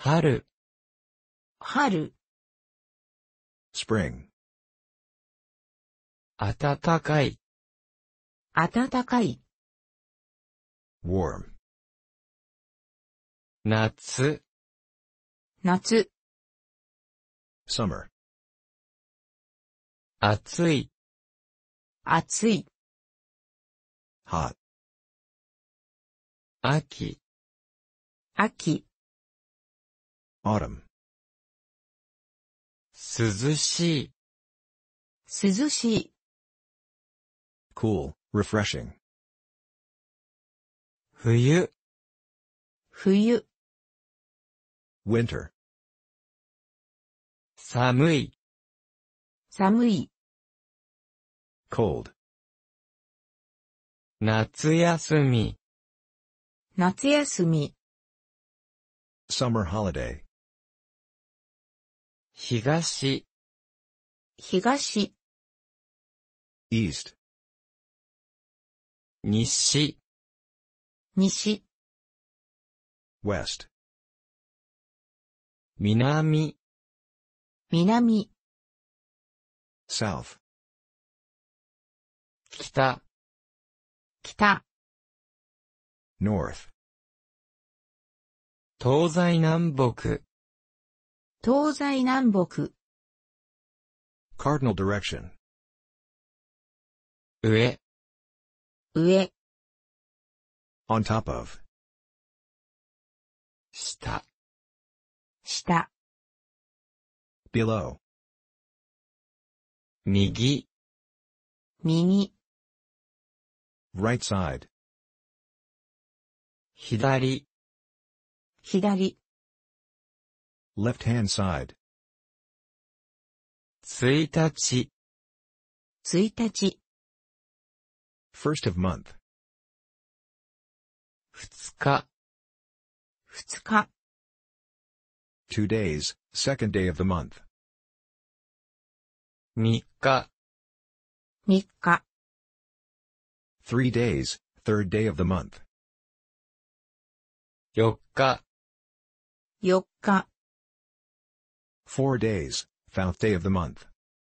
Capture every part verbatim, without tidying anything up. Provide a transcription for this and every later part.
春、 春、 spring, 暖かい、 暖かい、 warm, 夏、 夏、 summer, 暑い、 暑い、 hot, 秋、 秋、 autumn, 涼しい、 涼しい、 cool, refreshing, 冬、 冬、 winter, 寒い、 寒い、 cold, 夏休み、 夏休み、 summer holiday, 東、 東、 east, 西、 西、 west, 南、 南、 south, 北、 北、 north, 東西南北、 東西南北、 cardinal direction, 上、 上、 on top of, 下、 下、 below, 右、 右、 right side, 左、 左、 left hand side, 1日、 1日、 first of month, ふつか、 ふつか、 two days, second day of the month, みっか、 みっか、 three days, third day of the month, よっか、 よっか、 four days, fourth day of the month,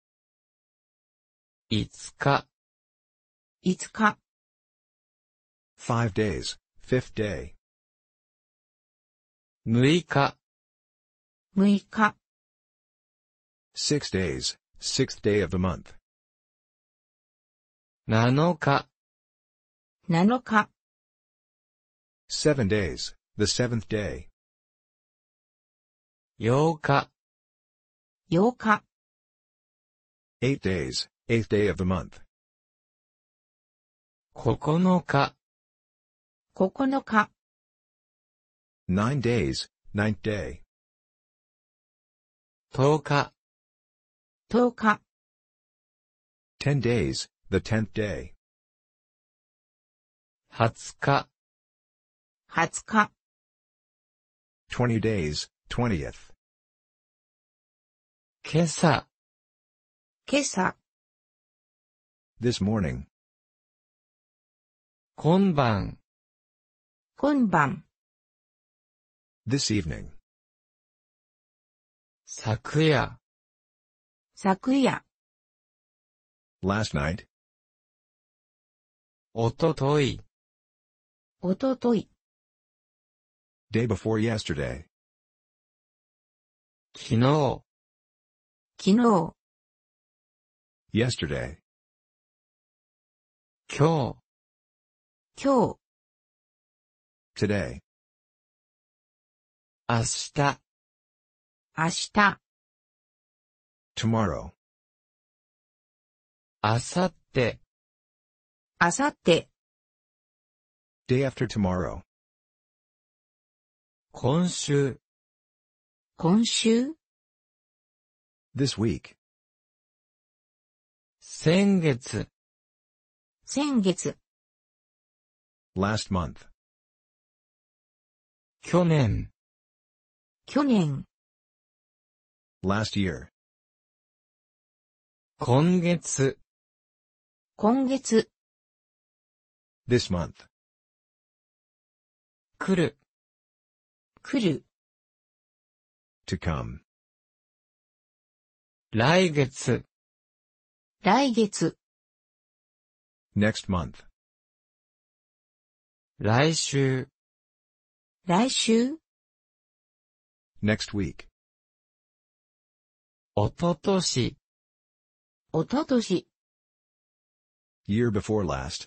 いつか、 いつか、 five days, fifth day, むいか、 むいか、 six days, sixth day of the month, なのか、 なのか、 seven days, the seventh day, ようか、 ようか、 eight days, eighth day of the month, ここのか、 ここのか、 nine days, ninth day, とおか、 とおか、 ten days, the tenth day, はつか、 はつか、 twenty days, twentieth, 今朝、 今朝、 this morning, 今晩、 今晩、 this evening, 昨夜、 昨夜、 last night, おととい、 おととい、 day before yesterday, 昨日、 昨日、 yesterday, 今日、 今日、 today, 明日、 明日、 tomorrow, 明後日、 明後日、 day after tomorrow, 今週、 今週、 this week, 先月、 先月、 last month, 去年、 去年、 last year, 今月、 今月、 this month, 来る、 来る、 to come. 来月、 来月、 Next month. 来週、 来週、 Next week. おととし、 おととし、 Year before last.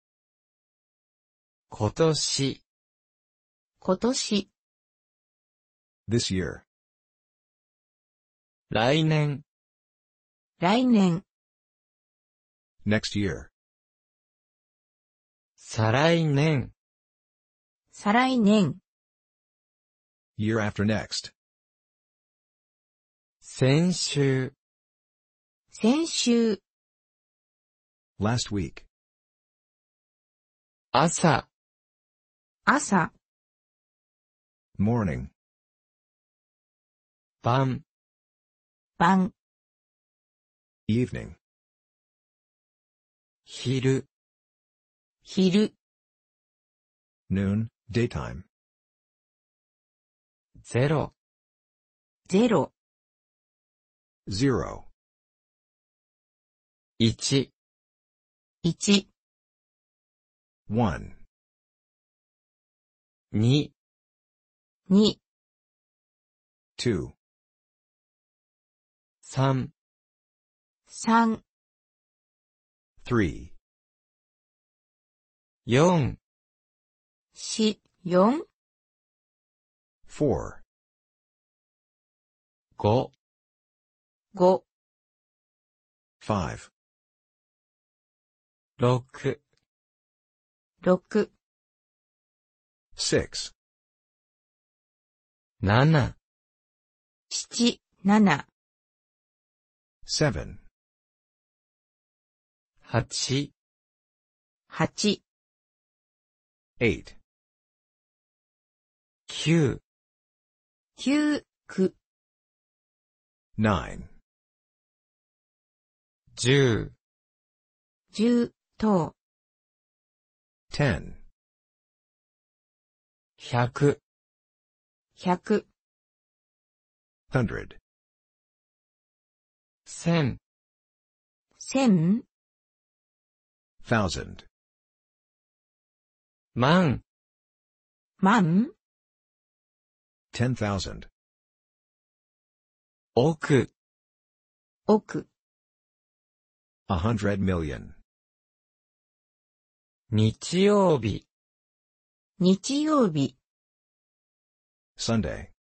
今年、 今年、 This year. 来年、 来年、 Next year. 再来年、 再来年、 Year after next. 先週、 先週、 Last week. 朝、 朝、 Morning. 晩、 晩、 Evening. 昼、 昼、 Noon. Daytime. ゼロ、 ゼロ、 Zero. 一、 一、 One. 二、 二、 Two. 三、 三、 Three. 四、 四、四、 Four. 五、 五、 Five. 六、 六、 Six. 七、 七、七、 Seven. 八、 八、 Eight. 九、 九、九、 Nine. 十、 十、等、 Ten. 百、 百、 Hundred. 千、 千、 Thousand. 万、 万、 Ten thousand. 億、 億、 A hundred million. 日曜日、 日曜日、 Sunday.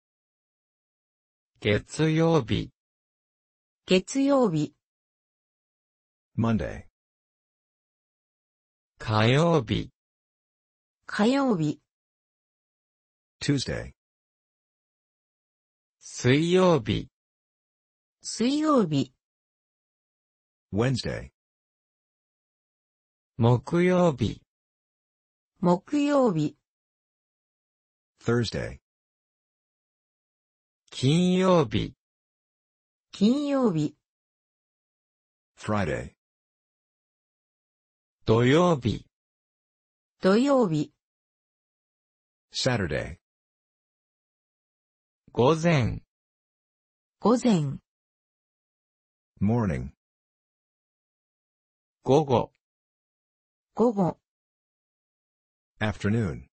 月曜日、 月曜日、 Monday. 火曜日、 火曜日、 Tuesday. 水曜日、 水曜日、 Wednesday. 木曜日、 木曜日、 Thursday. 金曜日、 金曜日、 Friday. 土曜日、 土曜日、 Saturday. 午前、 午前、 Morning. 午後、 午後、 Afternoon.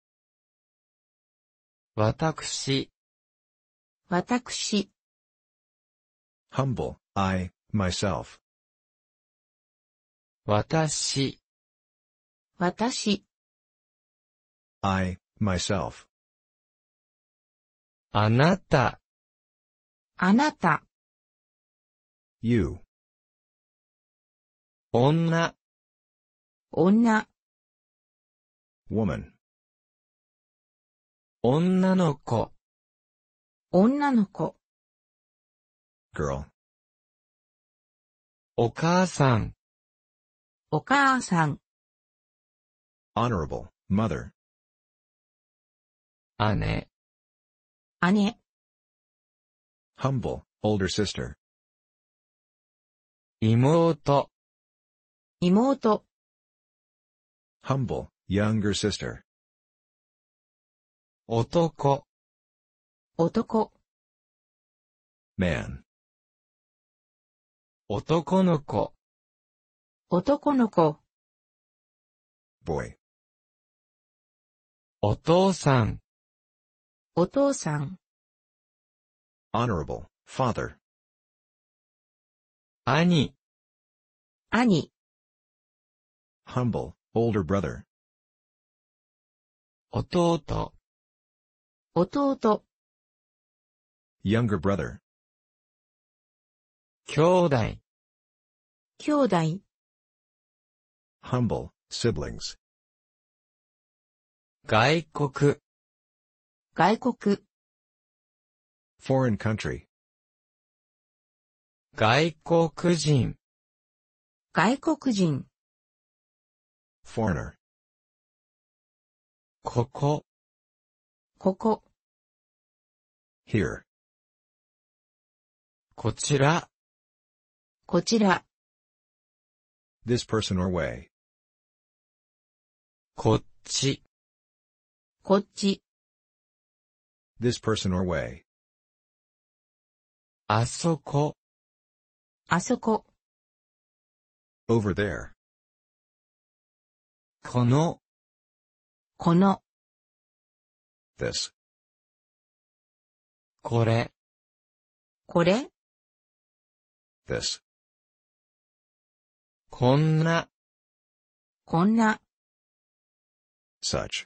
私、 私、 Humble. I, myself. 私、 私、 I, myself. あなた、 あなた、 You. 女、 女、 Woman. 女の子、 女の子、 Girl. お母さん、 お母さん、 Honorable. Mother. 姉、 姉、 Humble. Older sister. 妹、 妹、 Humble. Younger sister. 男、 男、 man. 男の子、 男の子、 boy. お父さん、 お父さん、 Honorable, father. 兄、 兄、 Humble, older brother. 弟、 弟、 Younger brother. 兄弟、 兄弟、 Humble, siblings. 外国、 外国、 Foreign country. 外国人、 外国人、 Foreigner. ここ、 ここ、 Here. こちら、 こちら、 This person or way. こっち、 こっち、 This person or way. あそこ、 あそこ、 Over there. この、 この、 This. これ、 これ、 This. こんな、 こんな、 Such.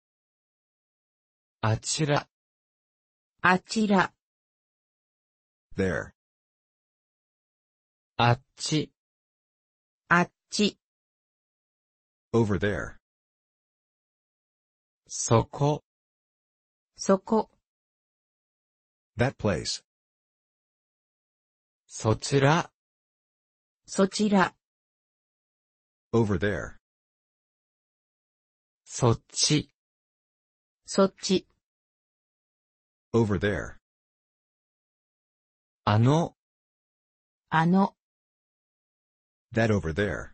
あちら、 あちら、 There. あっち、 あっち、 Over there. そこ、 そこ、 That place. そちら、 そちら、 Over there. そっち、 そっち、 Over there. あの、 あの、 That over there.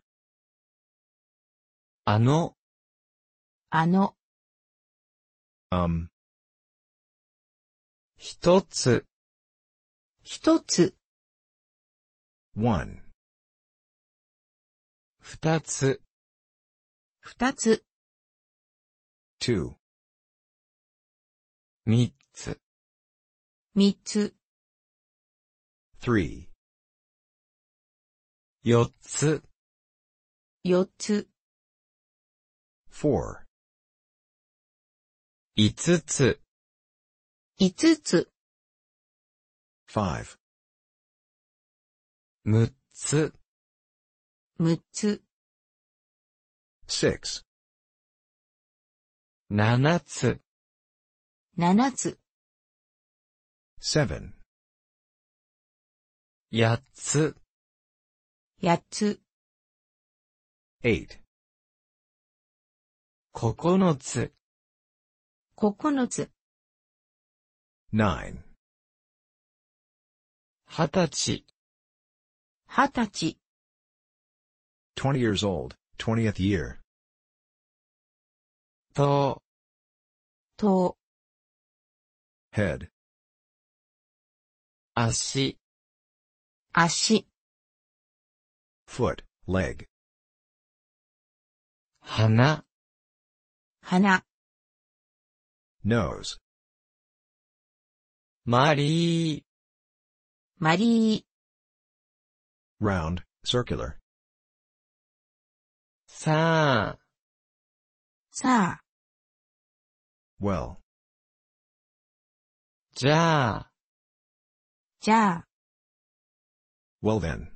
あの、 あの、 Um. 一つ、 一つ、 One. 二つ、 二つ、 Two. 三つ、 三つ、 Three. 四つ、 四つ、 Four. 五つ、 五つ、 Five. 六つ、 六つ、 Six. 七つ、 七つ、 Seven. 八つ、 八つ、 Eight. 九つ、 九つ、 Nine. 二十歳、 二十歳、 Twenty years old, twentieth year. と、 頭、 Head. 足、 足、 Foot, leg. 鼻、 鼻、 Nose. マリー、 マリー、 Round, circular. さあ、 さあ、 Well. じゃあ、 じゃあ、 Well then.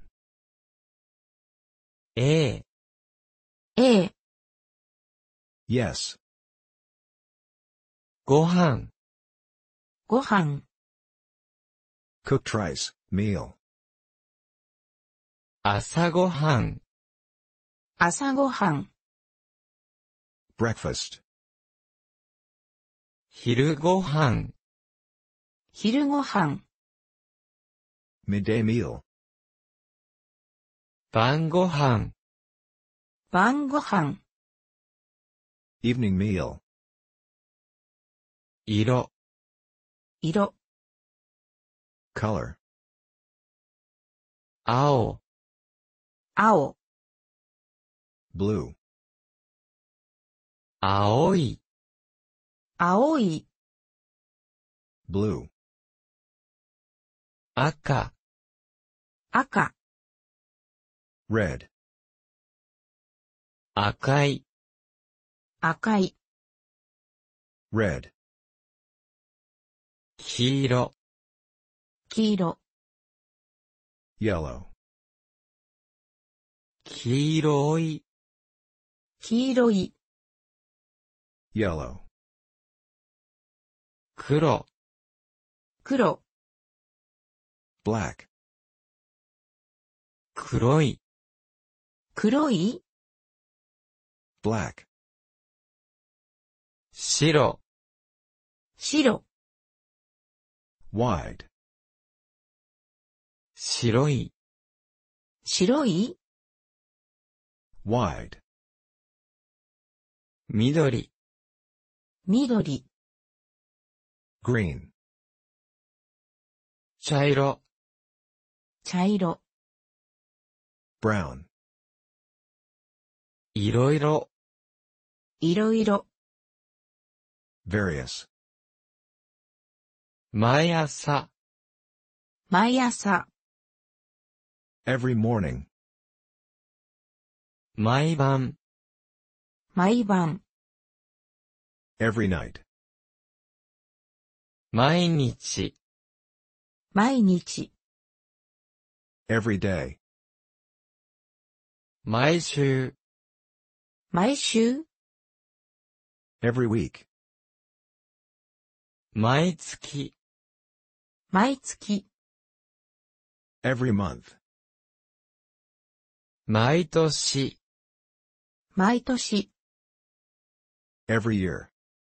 ええ、 A、 Yes. ご飯、 ご飯、 Cooked rice, meal. 朝ごはん、 朝ごはん、 Breakfast. 昼ごはん、 昼ごはん、 Midday meal. 晩ごはん、 晩ごはん、 Evening meal. 色、 色、 Color. 青、 青、 blue, 青い、 青い、 blue, 赤、 赤、 red, 赤い、 赤い、 red, 黄色、 黄色、 yellow, 黄色い、 黄色い、 yellow, 黒、 黒、 black, 黒い、 黒い、 black, 白、 白、 wide, 白い、 白い、 wide, 緑、 緑、 green, 茶色、 茶色、 brown, いろいろ、 いろいろ、 various, 毎朝、 毎朝、 every morning, 毎晩、 毎晩、 every night, 毎日、 毎日、 every day, 毎週、 毎週、 every week, 毎月、 毎月、 every month, 毎年、 毎年、 every year,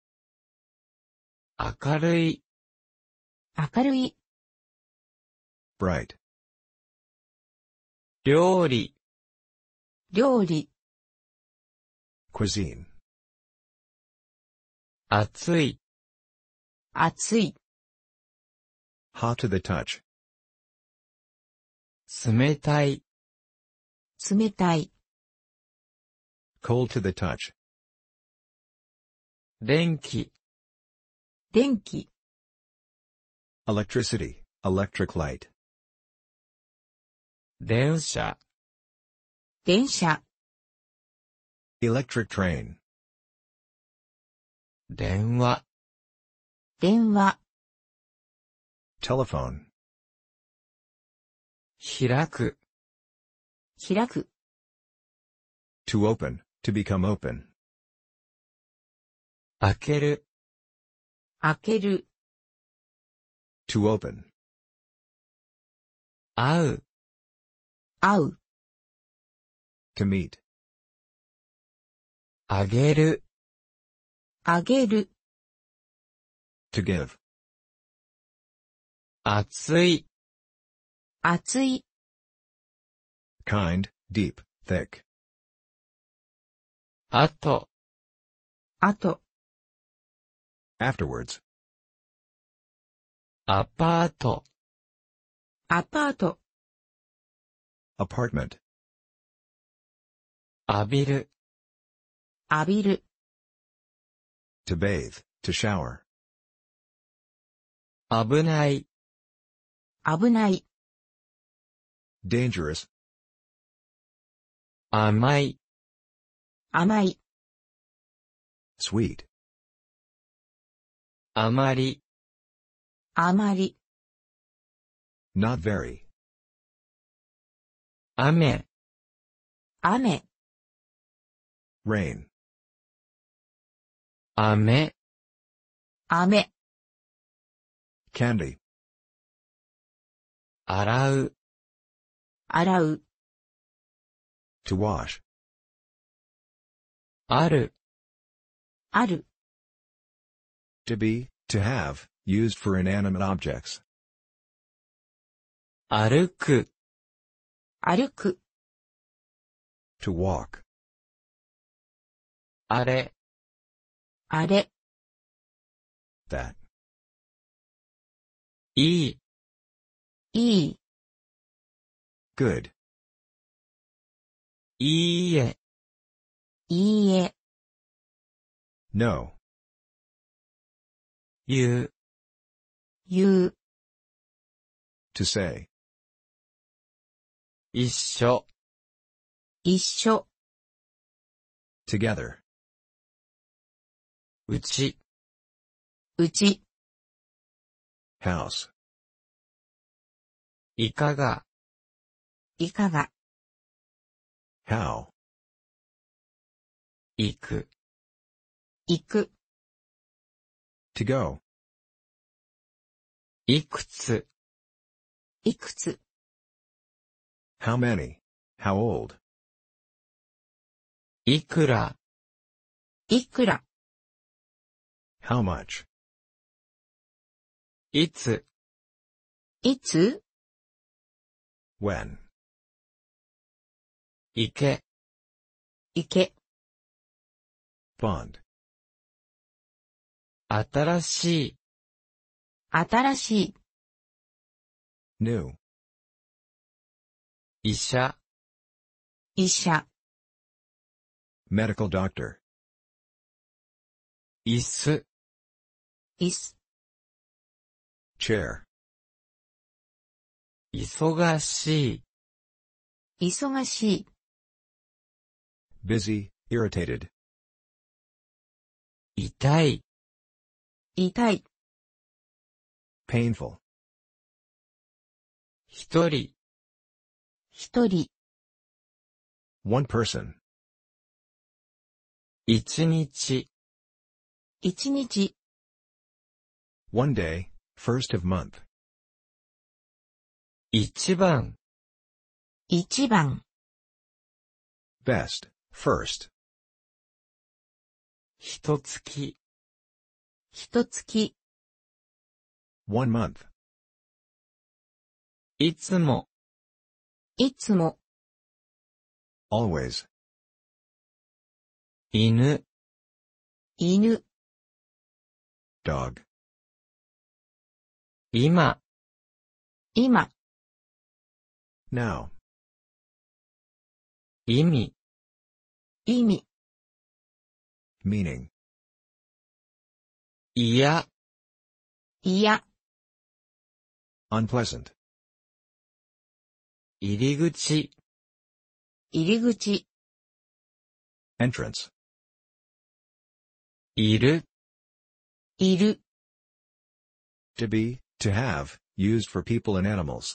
明るい、 明るい、 bright, 料理、 料理、 cuisine, 熱い、 熱い、 hot to the touch, 冷たい、 冷たい、 cold to the touch, 電気、 電気、 electricity, electric light, 電車、 電車、 electric train, 電話、 電話、 telephone, 開く、 開く、 to open, to become open, 開ける、 開ける、 to open, 会う、 会う、 to meet, あげる、 あげる、 to give, 熱い、 熱い、 kind, deep, thick, あと、 あと、 afterwards, アパート、 アパート、 apartment, 浴びる、 浴びる、 to bathe, to shower, 危ない、 危ない、 dangerous, 甘い、 甘い、 sweet, あまり、 あまり、 not very, 雨、 雨、 rain, 雨、 雨、 candy, 洗う、 洗う、 to wash, ある、 ある、 to be, to have, used for inanimate objects, 歩く、 歩く、 to walk, あれ、 あれ、 that, いい、 いい、 good, いいえ、 いいえ、 no, 言う、 言う、 to say, 一緒、 一緒、 together, うち、 うち、 house, いかが、 いかが、 how, 行く、 行く、 to go, いくつ、 いくつ、 how many, how old, いくら、 いくら、 how much, いつ、 いつ、 when, 行け、 行け、 bond, 新しい、 新しい、 new, 医者、 医者、 medical doctor, 椅子、 椅子、 chair, 忙しい、 忙しい、 busy, irritated, 痛い、 痛い、 painful, 一人、 一人、 one person, 一日、 一日、 one day, first of month, 一番、 一番、 best, first, 一月、 一月、 one month, いつも、 いつも、 always, 犬、 犬、 dog, 今、 今、 now, 意味、 意味、 meaning, いや、 いや、 unpleasant, 入り口、 入り口、 entrance, いる、 いる、 to be, to have, used for people and animals,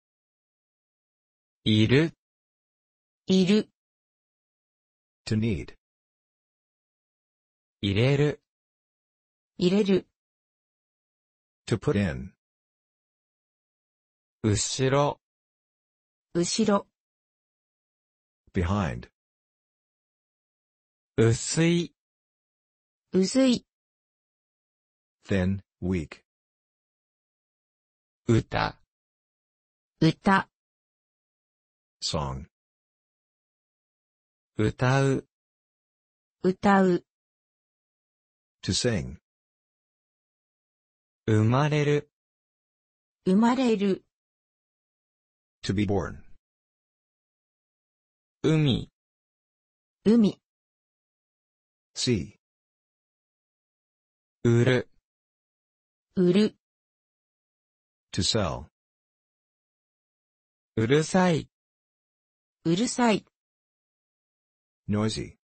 いる、 いる、 to need, 入れる、 入れる、 to put in, 後ろ、 後ろ、 behind, 薄い、 薄い、 thin, weak, 歌、 歌、 song, 歌う、 歌う、 to sing, 生まれる、 生まれる、 to be born, 海、 海、 see, 売る、 売る、 to sell, うるさい、 うるさい、 noisy,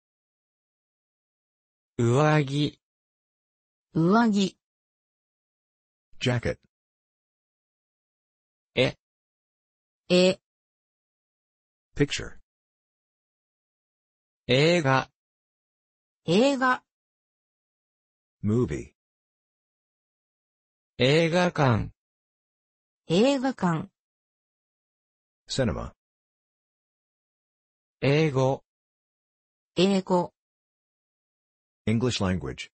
上着、 上着、 jacket, え、 絵、 picture, 映画、 映画、 movie, 映画館、 映画館、 cinema, 英語、 英語、 English language,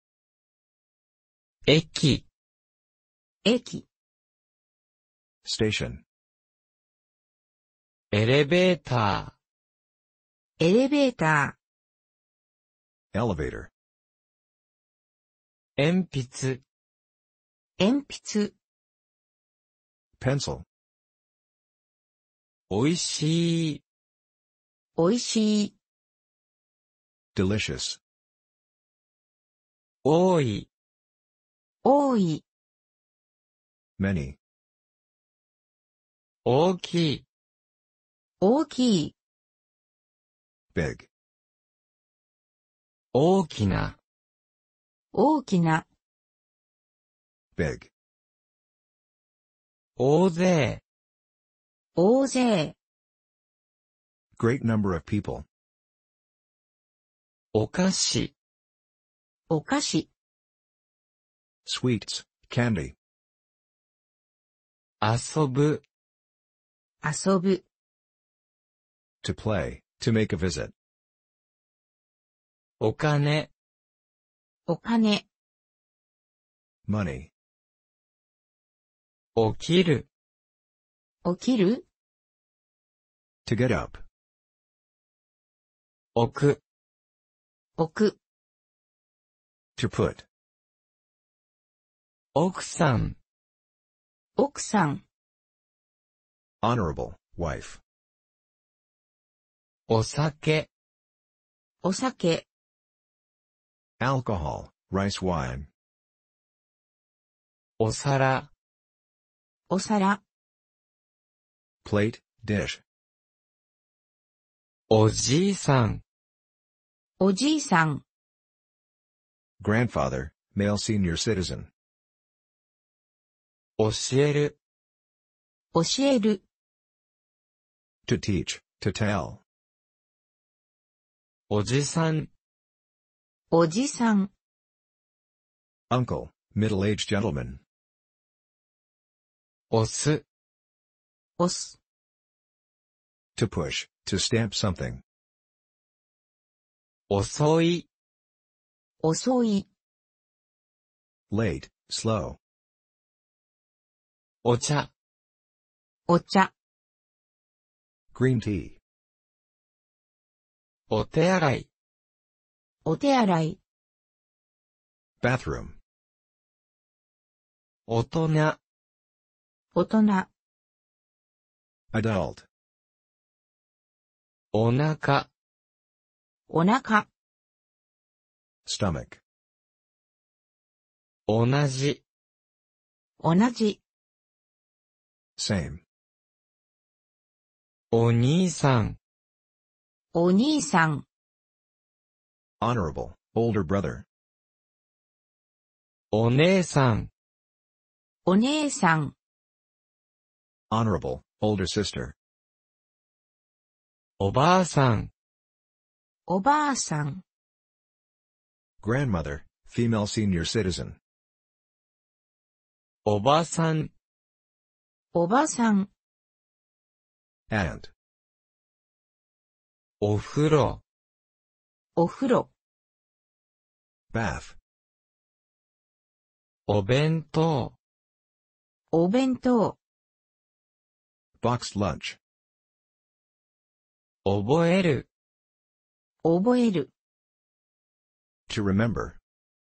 駅、 駅、 station, エレベータエレベータ elevator, ー、鉛筆、 ー、鉛筆、 pencil, おいしい。 おいしい。 delicious, 多い。 多い。 many, 大きい。 大きい。 big, 大きな。 大きな。 big, 大勢。 大勢。 great number of people, お菓子。 お菓子。 sweets, candy, 遊ぶ。 遊ぶ。 to play, to make a visit, お金。 お金。 money, 起きる。 起きる。 to get up, 置く。 置く。 to put, 奥さん。 奥さん。 honorable, wife, お酒。 お酒。 alcohol, rice wine, お皿。 お皿。 plate, dish, おじいさん。 おじいさん。 grandfather, male senior citizen, 教える。 教える。 to teach, to tell, おじさん。 おじさん。 uncle, middle-aged gentleman, 押す。 押す。 to push, to stamp something, 遅い。 遅い。 late, slow, お茶。 お茶。 green tea, お手洗い。 お手洗い。 bathroom, 大人。 大人。 adult, お腹。 お腹。 stomach, 同じ。 同じ。 same, お兄さん。 お兄さん。 honorable, older brother, お姉さん。 お姉さん。 honorable, older sister, おばあさん。 おばあさん。 grandmother, female senior citizen, おばさん。 おばさん。 aunt, お風呂。 お風呂。 bath, お弁当。 お弁当。 boxed lunch, 覚える。 覚える。 to remember,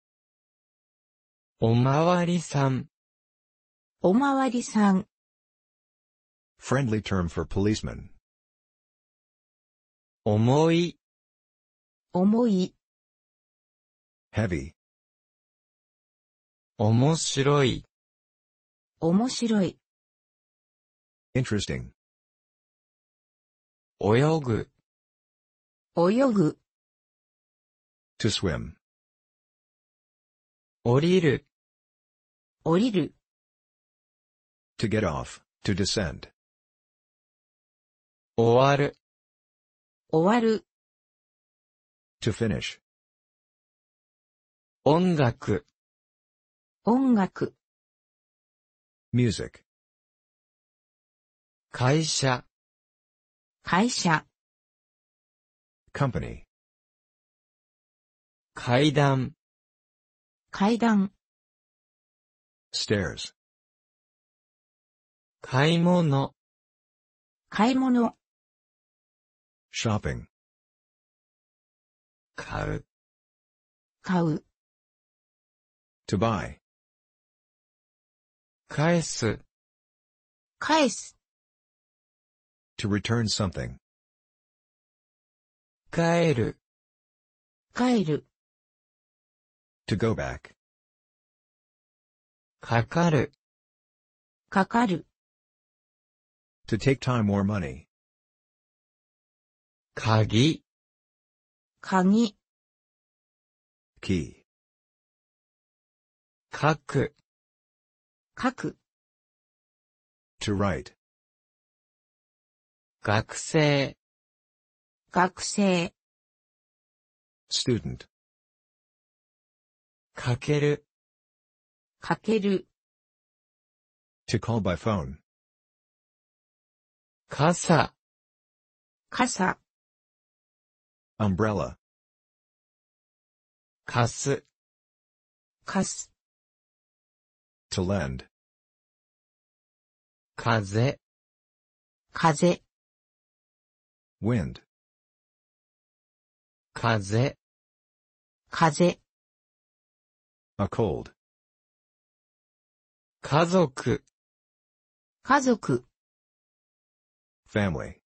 おまわりさん。 おまわりさん。 friendly term for policeman, 重い。 重い。 heavy, 面白い。 面白い。 interesting, 泳ぐ。 泳ぐ。 to swim, 降りる。 降りる。 to get off, to descend, 終わる。 終わる。 to finish, 音楽。 音楽。 music, 会社。 会社。 company, 階段。 階段。 stairs, 買い物。 買い物。 shopping, 買う。 買う。 to buy, 返す。 返す。 To return something. 帰る、 帰る、 To go back. かかる、 かかる、 To take time or money. 鍵、 鍵、 Key. 書く、 書く、 To write. 学生、 学生、 Student. かける、 かける、 To call by phone. 傘、 傘、 Umbrella. 貸す、 貸す、 To lend. 風、 風、 Wind. 風、 風、 A cold. 家族、 家族、 Family.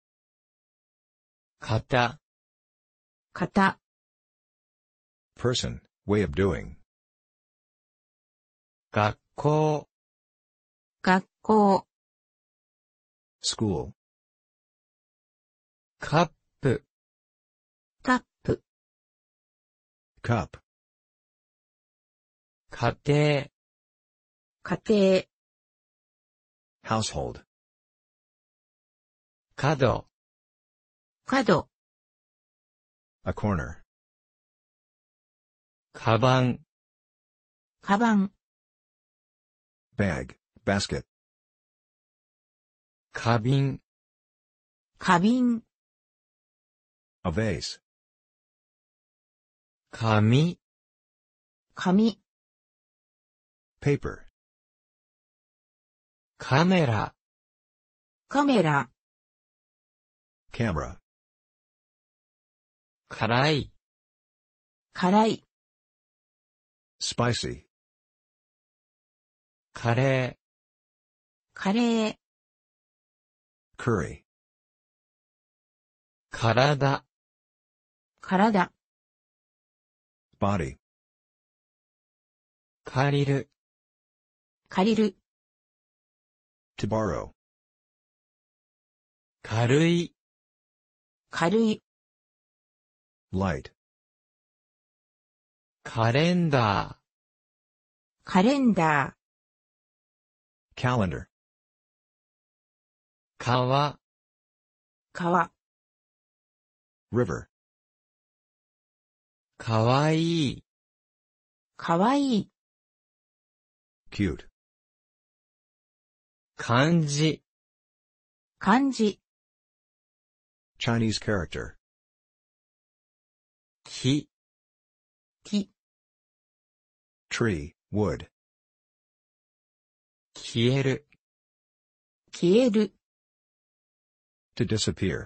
型、 型、 Person. Way of doing. 学校、 学校、 School. カップ、 カップ、 Cup. 家庭、 家庭、 Household. 角、 角、 A corner. カバン、 カバン、 Bag. Basket. 花瓶、 花瓶、 A vase. 紙、 紙、 Paper. カメラ、 カメラ、 Camera. 辛い、 辛い、 Spicy. カレカレー、 Curry. ー、体、 体、 Body. 借りる、 借りる、 To borrow. 軽い、 軽い、 Light. カレンダカレンダ Calendar. ー、川、 ー、川、 River. かわいい、 かわいい、 Cute. 漢字、 漢字、 Chinese character. 木、 木、 Tree. Wood. 消える、 消える、 To disappear.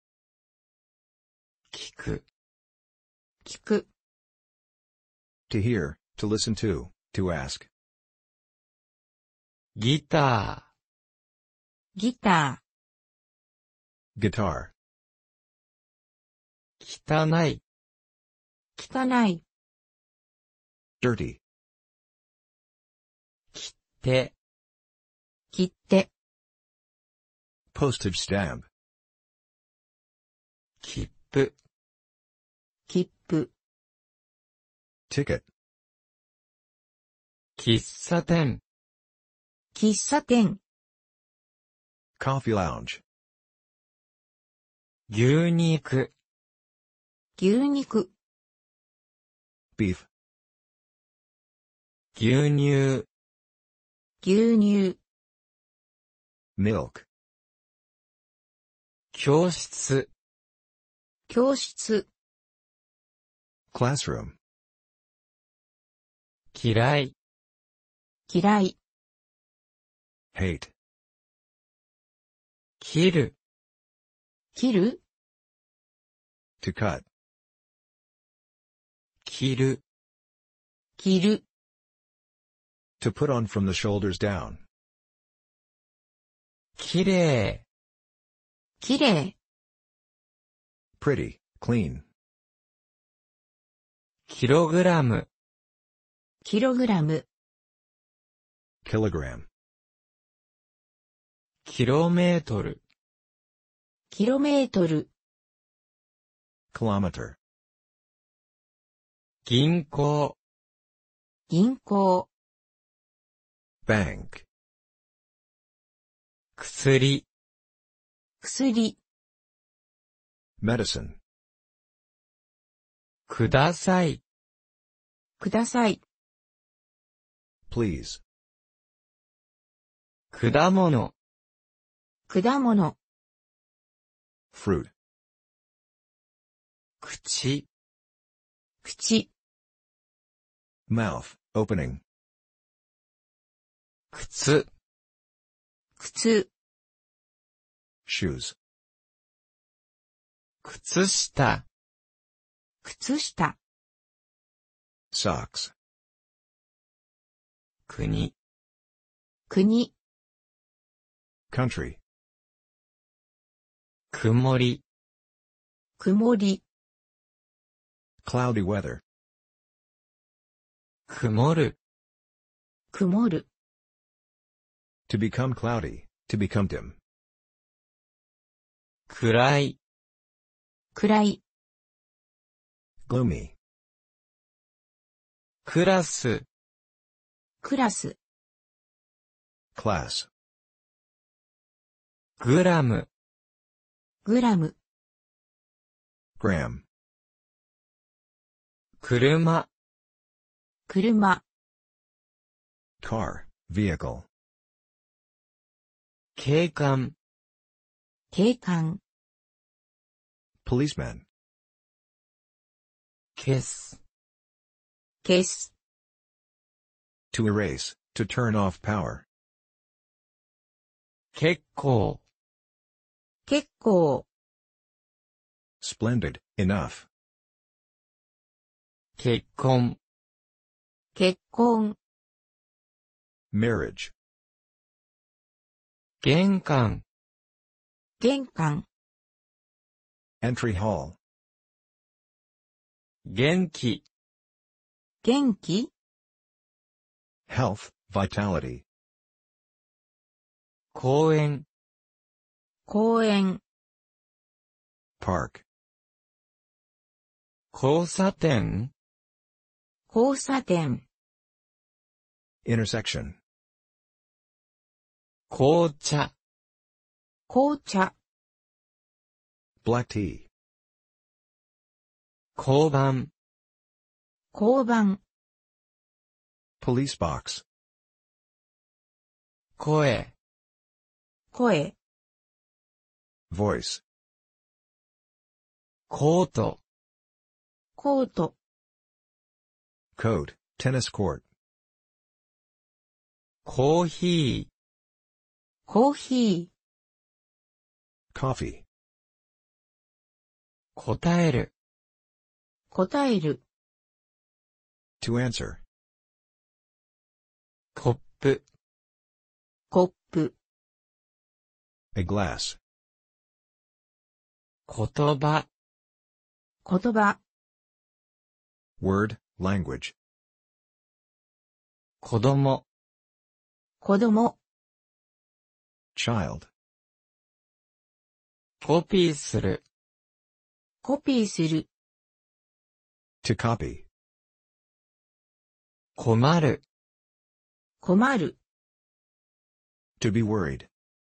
聞く、 聞く、 To hear. To listen to. To ask. ギタギタ Guitar. ー、汚い、 ー、汚い、 Dirty. 手、 切手、 Postage stamp. 切符、 切符、 Ticket. 喫茶店、 喫茶店、 Coffee lounge. 牛肉、 牛肉、 Beef. 牛乳、 牛乳、 Milk. 教室、 教室、 Classroom. 嫌い、 嫌い、 Hate. 切る、 切る、 To cut. 切る、 切る、 To put on from the shoulders down. きれきれい、 pretty, clean, キログラム、 キログラム、 kilogram, キロメートル、 キロメートル、 kilometer, 銀行、 銀行、 bank, 薬、 薬、 medicine, ください、 ください、 please, 果物、 果物、 fruit, 口、 口、 mouth, opening, 靴、 靴、 shoes, 靴下、 靴下、 socks, 国、 国、 country, 曇り、 曇り、 cloudy weather, 曇る、 曇る、 to become cloudy, to become dim, 暗い、 暗い、 gloomy, クラス、 クラス、 class, グラム、 グラム、 gram, 車、 車、 car, vehicle, 警官、 警官、 policeman, 消す、 消す、 to erase, to turn off power, 結構、 結構、 splendid, enough, 結婚、 結婚、 marriage, 玄関、 玄関、 entry hall, 元気、 元気、 health, vitality, 公園、 公園、 park, 交差点、 交差点、 intersection, 紅茶、 紅茶、 black tea, 交番、 交番、 police box, 声、 声、 voice, コート、 コート、 coat, tennis court, コーヒー、 コーヒー、 coffee, 答える、 答える、 to answer, コップ、 コップ、 a glass, 言葉、 言葉、 word, language, 子供、 子供、 child, コピーする、 コピーする、 to copy, 困る、 困る、 to be worried,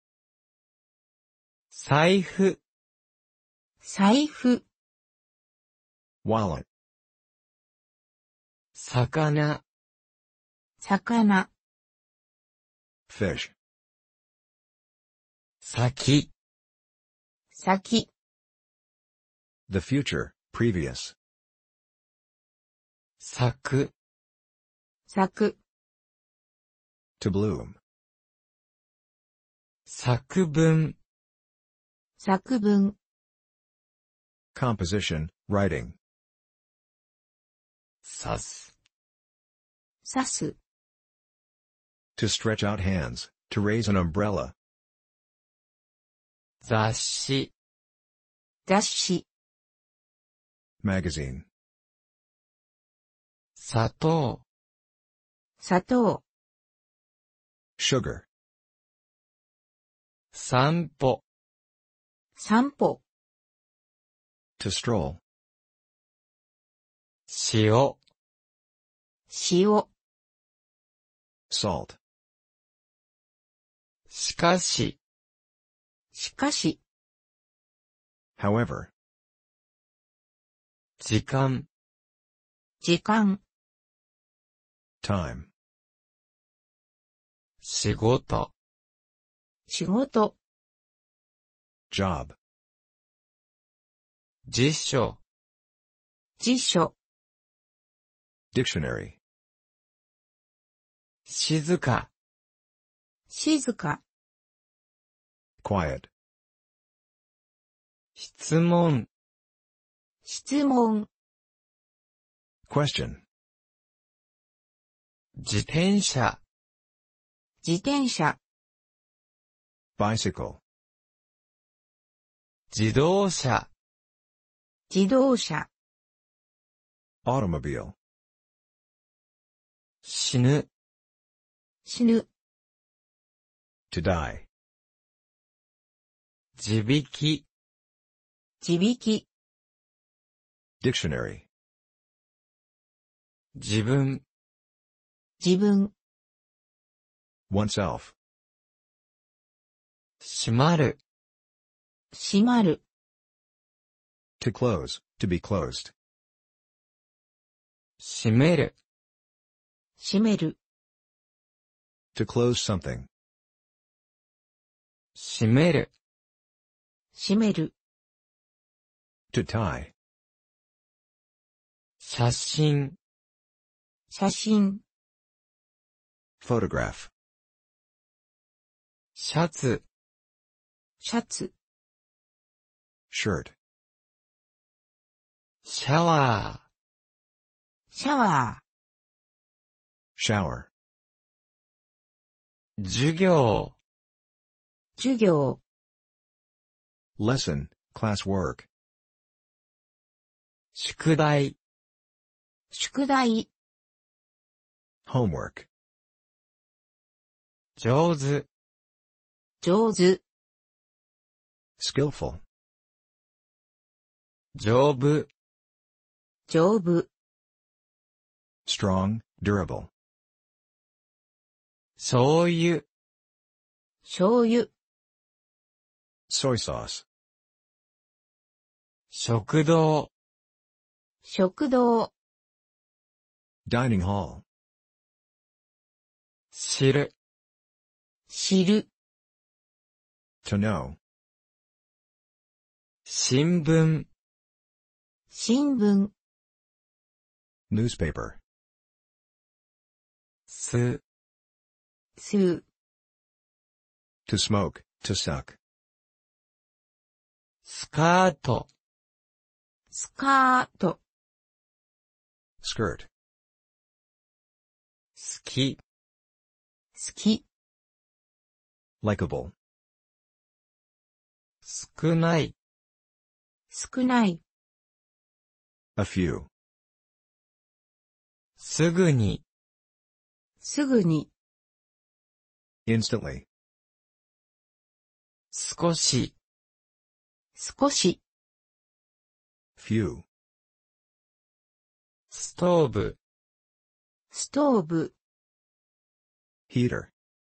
財布、 財布、 wallet, 魚、 魚、 fish, 先、 先、 the future, previous, 咲く、 咲く、 to bloom, 作文、 作文、 composition, writing, 刺す、 刺す、 to stretch out hands, to raise an umbrella, 雑誌、 雑誌、 magazine, 砂糖、 砂糖、 sugar, 散歩、 散歩、 to stroll, 塩、 塩、 salt, しかし、 しかし、 however, 時間、 時間、 time, 仕事、 仕事、 job, 辞書、 辞書、 dictionary, 静か、 静か、 quiet, 質問、 質問、 question, 自転車、 自転車、 bicycle, 自動車、 自動車、 automobile, 死ぬ、 死ぬ、 to die, 地引き、 地引き、 dictionary, 自分、 自分、 oneself, 閉まる、 閉まる、 to close, to be closed, 閉める、 閉める、 to close something, 閉める、 閉める、 to tie, 写真、 写真、 photograph, シャツ、 シャツ、 shirt, シャワシャワ shower, ー、授業、 ー、授業、 lesson, class work, 宿題、 宿題、 homework, 上手、 上手、 skillful, 丈夫、 丈夫、 strong, durable, 醤油、 醤油、 soy sauce, 食堂、 食堂、 dining hall, 知る、 知る、 to know, 新聞、 新聞、 newspaper, 吸、 吸う、 to smoke, to suck, スカート、 スカート、 skirt, 好き、 好き、 likable, 少ない、 少ない、 a few, すぐに、 すぐに、 instantly, 少し、 少し、 few, ストーブ、 ストーブ、 heater,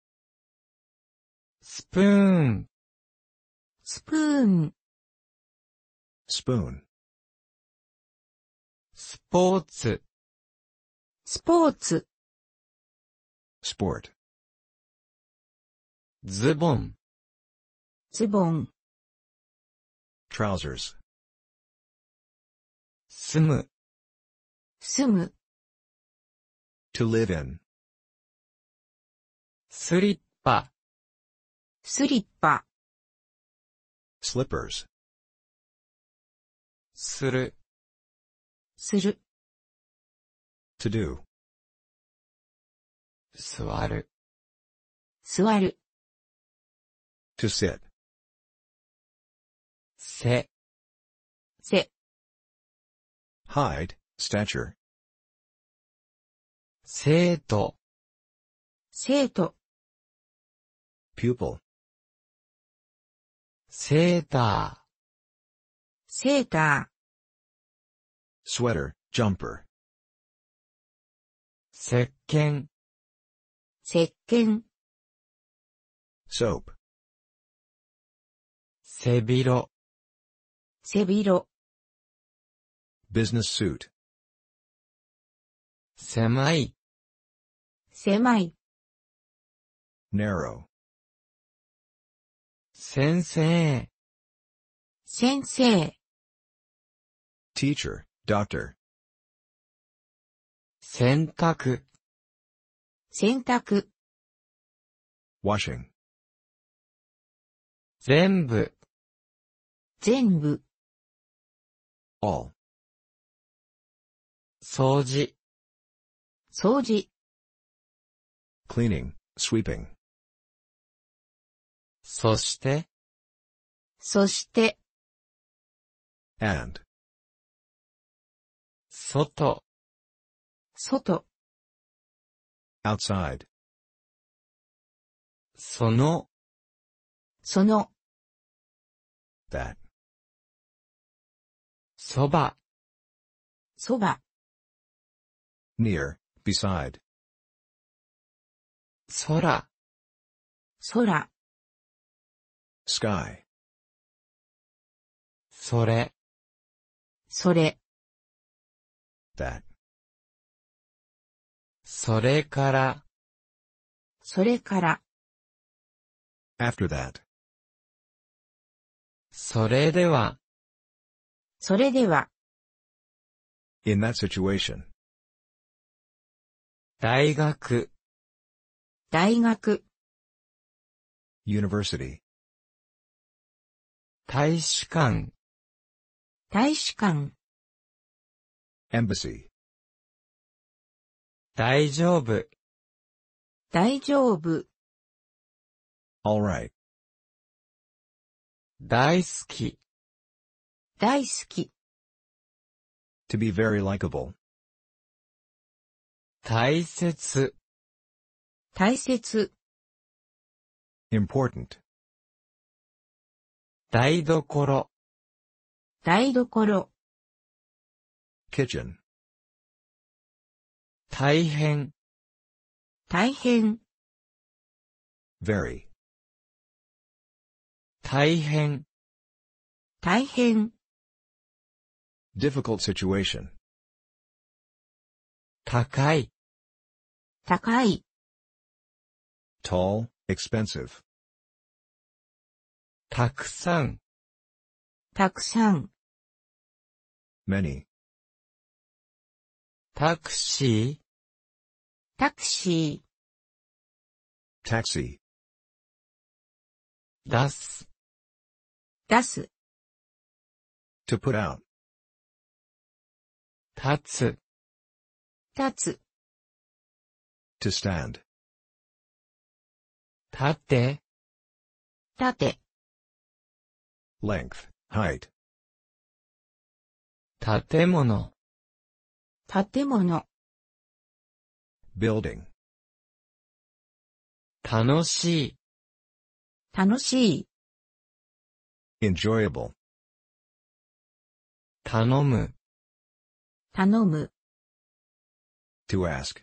スプーン、 スプーン、 spoon, スポーツ、 スポーツ、 sport, ズボン、 ズボン、 trousers, 住む、 住む、 to live in, スリッパ、 スリッパ、 slippers, する、 する、 to do, 座る、 座る、 to sit, せ、 背、 height, stature, 生徒、 生徒、 pupil, セータセータ sweater, jumper, ー、石鹸、 ー、石鹸、 soap, 背広、 背広、 business suit, 狭い、 狭い、 narrow, 先生、 先生、 teacher, doctor, 洗濯、 洗濯、 washing, 全部、 全部、 all, 掃除、 掃除、 cleaning, sweeping, そして、 そして、 and, 外、 外、 outside, その、 その、 that, そば、 そば、 near, beside, 空、 空、 sky, それ、 それ、 that, それから、 それから、 after that, それでは、 それでは、 in that situation, 大学、 大学、 university, 大使館、 大使館、 embassy, 大丈夫、 大丈夫、 all right, 大好き、 大好き、 to be very likable, 大切、 大切、 important, 台所、 台所、 kitchen, 大変、 大変、 very, 大変、 大変、 difficult situation, 高い、 高い、 tall, expensive, たくさん、 たくさん、 many, タクシー、 タクシ taxi, 出す、 ー、出す、 to put out, 立つ、 立つ、 to stand, 立て、 立て、 length, height, 建物、 建物、 building, 楽しい、 楽しい、 enjoyable, 頼む、 頼む、 to ask,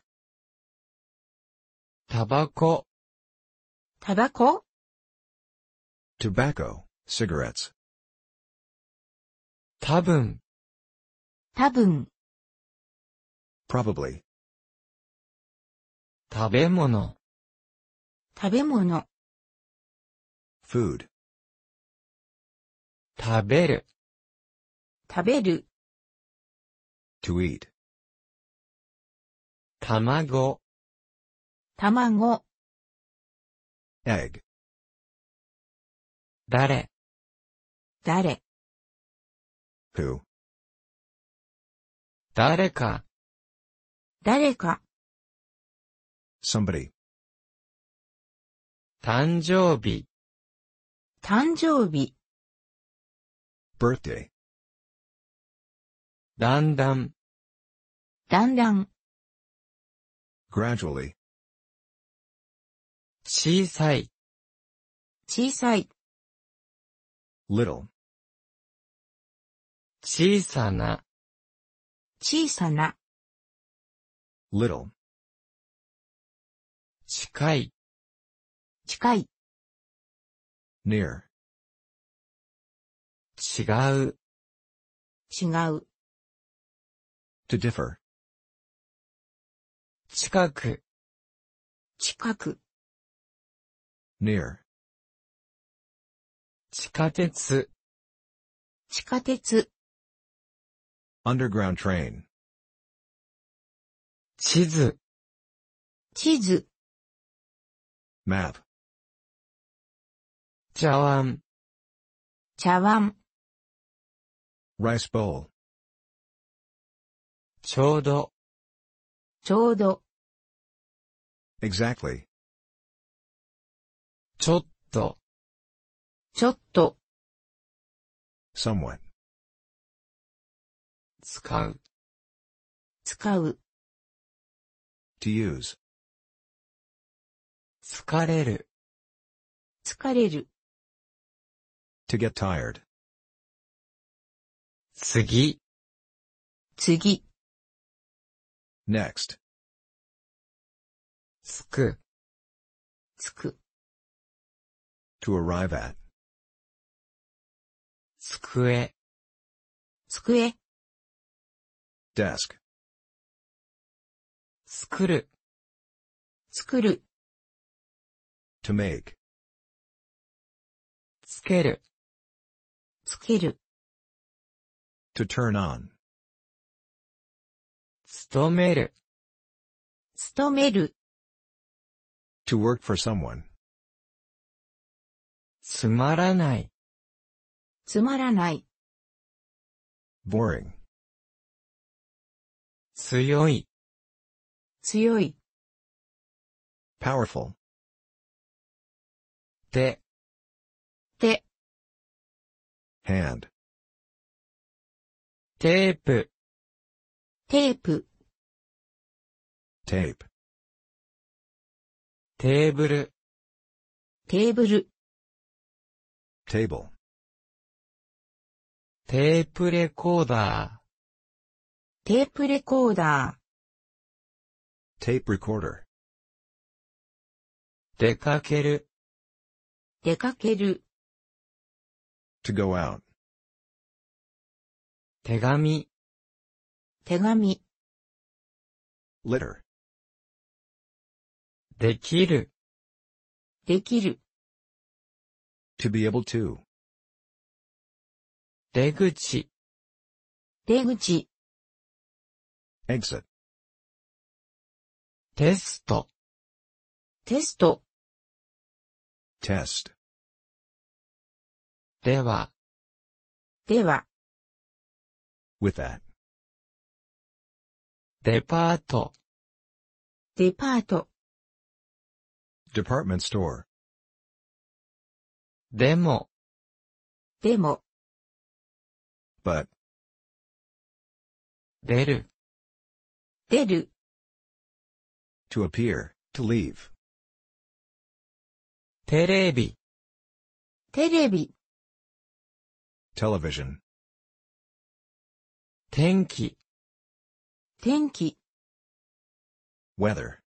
タバコ、 タバコ、 tobacco, cigarettes, 多分、 多分、 probably, 食べ物、 食べ物、 food, 食べる、 食べる、 to eat, 卵、 卵、 egg, 誰、 誰、 who, 誰か、 誰か、 somebody, 誕生日、 誕生日、 birthday, だんだん、 だんだん、 gradually, 小さい、 小さい、 little, 小さな、 小さな、 little, 近い、 近い、 near, 違う、 違う、 to differ, 近く、 近く、 near, 地下鉄、 地下鉄、 underground train, 地図、 地図、 map, 茶碗、 茶碗、 rice bowl, ちょうど、 ちょうど、 exactly, ちょっと、 ちょっと、 somewhat, 使う、 使う、 to use, 疲れる、 疲れる、 to get tired, 次、 次、 next, つく、 つく、 to arrive at, 机、 机、 desk, 作る、 作る、 to make, つける、 つける、 to turn on, 勤める、 勤める、 to work for someone, つまらない、 つまらない、 boring, 強い、 強い、 powerful, 手、 手、 hand, テープ、 テープ、 tape, テーブル、 テーブル、 table, テープレコーダテープレコーダ tape recorder, ー、出かける、 ー、出かける、 to go out, 手紙、 手紙、 litter, できる、 できる、 to be able to, 出口、 出口、 exit, テスト、 テスト、 test, では、 では、 with that, デパート、 デパート、 department store, でも、 でも、 but, 出る、 出る、 to appear, to leave, テレビ、 テレビ、 television, 天気、 天気、 weather,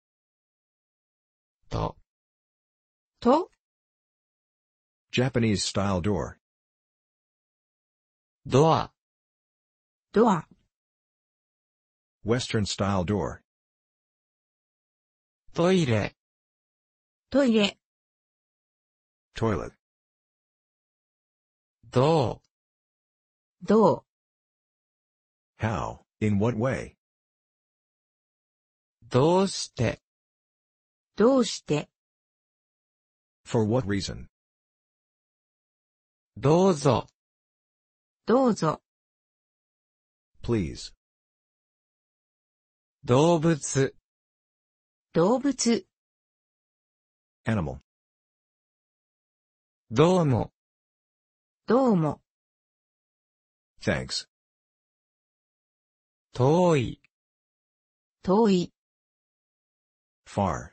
と、 と、 Japanese style door, ドア、 ドア、 Western style door, トイレ、 トイレ、 toilet, どう、 どう、 how, in what way, どうして、 どうして、 for what reason, どうぞ、 どうぞ、 please, 動物、 動物、 animal, どうも、 どうも、 thanks. 遠い、 遠い、 Far.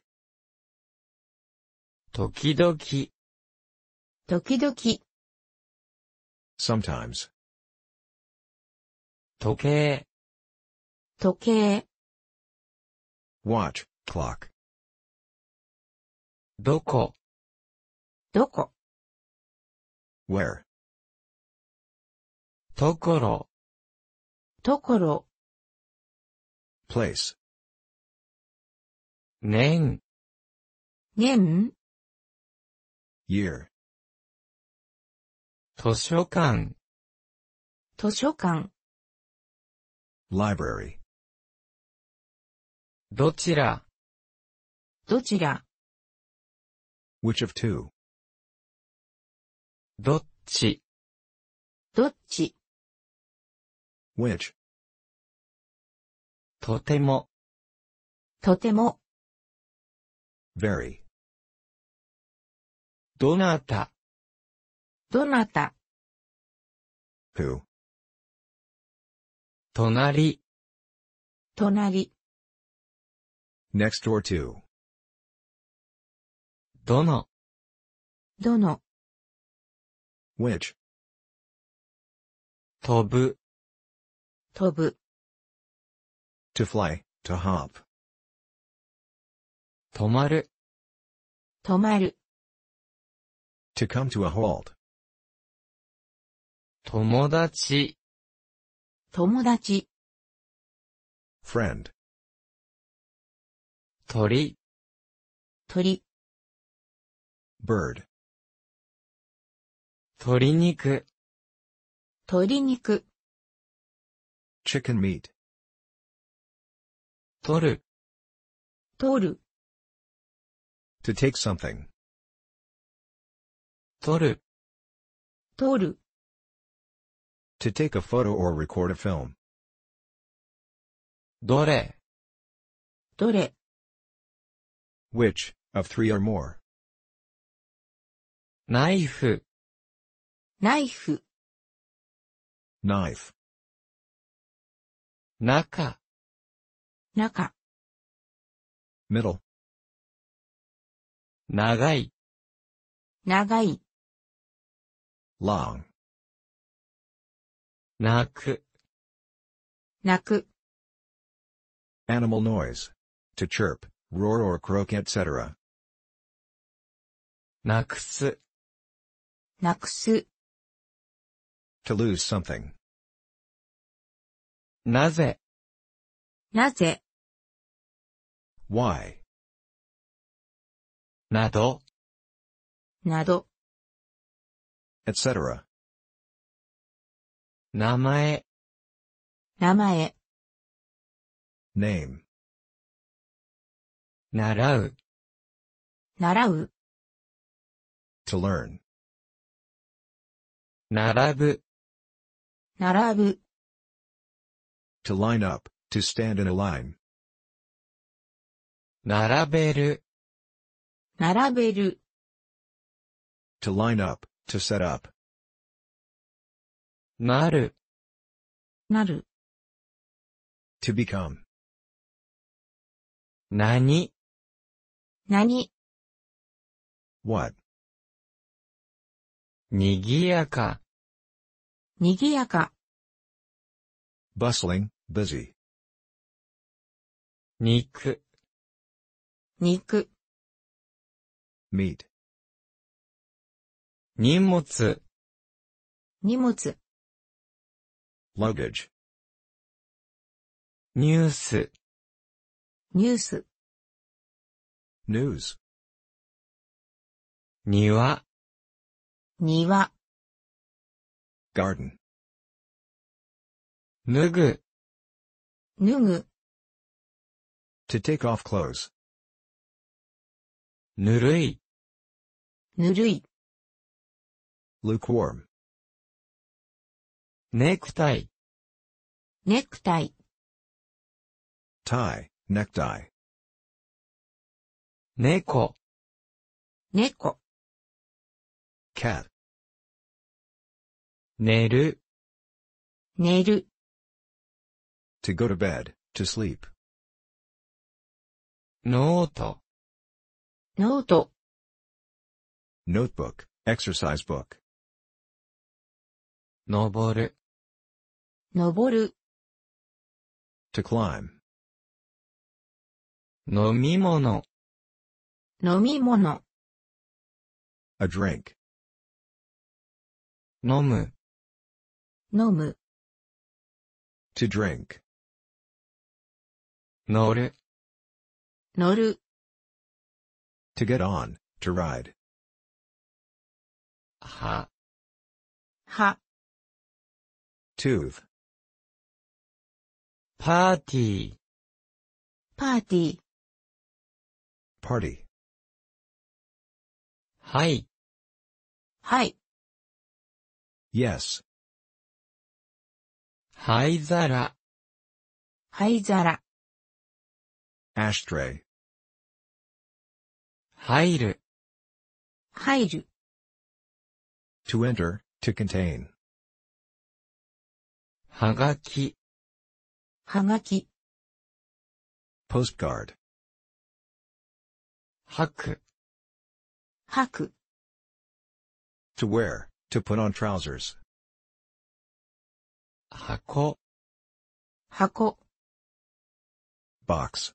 時々、 時々、 Sometimes. 時計、 時計、 Watch, clock. どこ、 どこ、 Where. ところ、 ところ、 Place. 年、 年、 Year. 図書館、 図書館、 Library. どちら、 どちら、 Which of two? どっち、 どっち、 Which. とても、 とても、 Very. どなた、 どなた、 Who. 隣、 隣、 Next door to. どの、 どの、 Which. 飛ぶ、 飛ぶ、 To fly, to hop. 止まる、 止まる、 To come to a halt. 友達、 友達、 Friend. 鳥、 鳥、 Bird. 鶏肉、 鶏肉、 Chicken meat. 取る、 取る、 To take something. 取る、 取る、 To take a photo or record a film. どれ、 どれ、 Which, of three or more. ナイフ、 ナイフ、 Knife. 中、 中、 Middle. 長い、 長い、 Long. 泣く、 鳴く、 Animal noise. To chirp, roar or croak, et cetera. なくす、 なくす、 To lose something. なぜ、 なぜ、 Why. など、 など、 et cetera. 名前、 名前、 Name. 習う、 習う、 To learn. 並ぶ、 並ぶ、 To line up, to stand in a line. 並べる、 並べる、 To line up, to set up. なる、 なる、 To become. 何、 何、 What. にぎやか、 にぎやか、 Bustling, busy. 肉、 肉、 Meat. 荷物、 荷物、 Luggage. ニュース、 ニュース、 News. 庭、 庭、 Garden. 脱ぐ、 脱ぐ、 To take off clothes. ぬるい、 ぬるい、 Lukewarm. ネクタイ、 ネクタイ、 Tie, necktie. 猫、 猫、 Cat. 寝る、 寝る、 To go to bed, to sleep. ノート、 ノート、 Notebook, exercise book. 登る、 登る、 To climb. 飲み物、 飲み物、 A drink. 飲む、 飲む、 To drink. 乗る、 乗る、 To get on, to ride. 歯、 歯、 Tooth. パーティー、 パーティー、 Party. はい、 はい、 Yes. 灰皿、 灰皿、 Ashtray. 入る、 入る、 To enter, to contain. はがき、 はがき、 Postcard. 吐く、 吐く、 To wear, to put on trousers. 箱、 箱、 Box.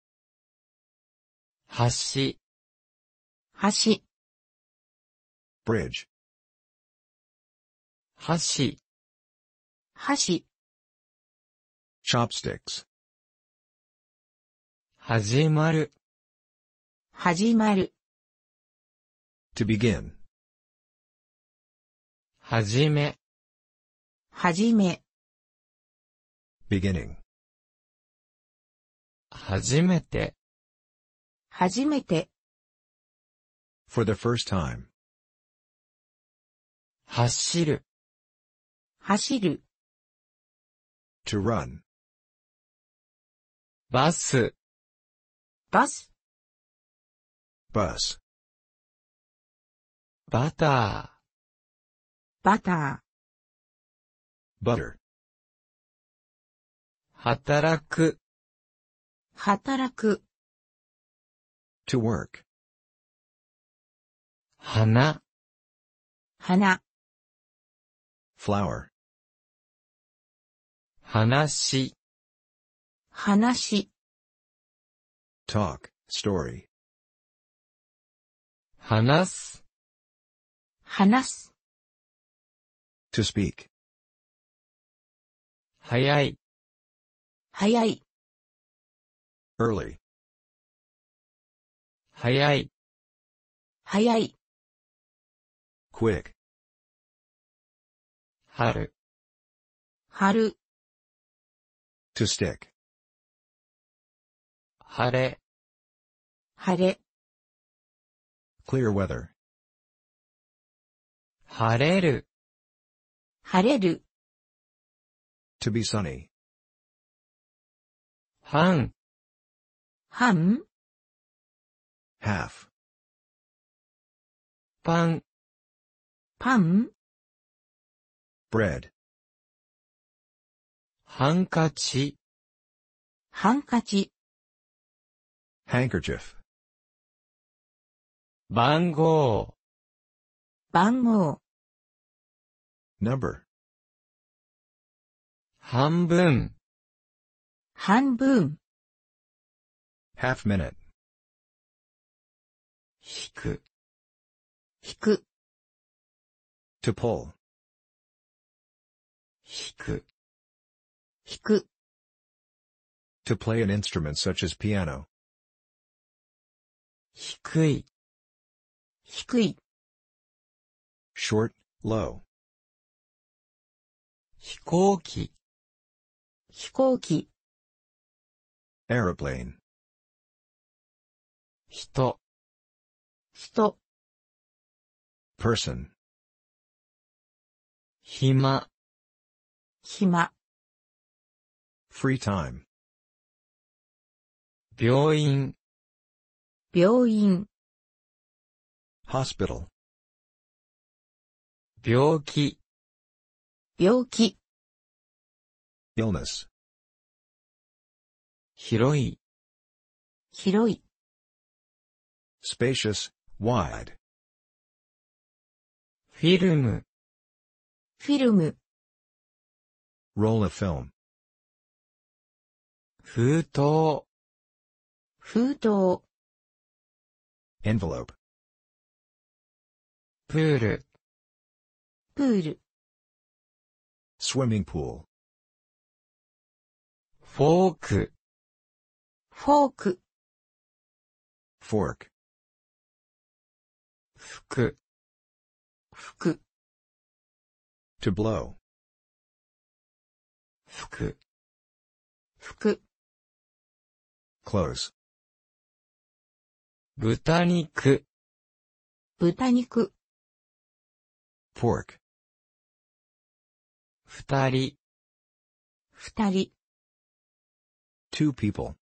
橋、 橋、 Bridge. 箸、 箸、 Chopsticks. 始まる、 始まる、 To begin. はじめ、 はじめ、 Beginning. 初めて、 初めて、 For the first time. 走る、 走る、 To run. バス、 バス、 Bus. バタバター、 Butter. 働く、 働く、 To work. 花、 花、 Flower. 話、 話、 Talk, story. 話す、 話す、 To speak. 早い、 早い、 Early. 早い、 早い、 Quick. 春、 春、 To stick. 晴れ、 晴れ、 Clear weather. 晴れる、 晴れる、 To be sunny. 半、 半、 Half. パン、 パン、 Bread. ハンカチ、 ハンカチ、 Handkerchief. 番号、 番号、 Number. 半分、 半分、 Half minute. 引く、 引く、 To pull. 引く、 引く、 To play an instrument such as piano. 低い、 低い、 Short, low. 飛行機、 飛行機、 Aeroplane. 人、 人、 Person. 暇、 暇、 Free time. 病院、 病院、 Hospital. 病気、 病気、 illness. 広い、 広い、 Spacious, wide. フィルム、 フィルム、 Roll of film. 封筒、 封筒、 Envelope. プール、 プール、 Swimming pool. フォーク、 フォーク、 Fork. 服、 服、 To blow. 服、 服、 Close. 豚肉、 豚肉、 Pork. 二人、 二人、 Two people.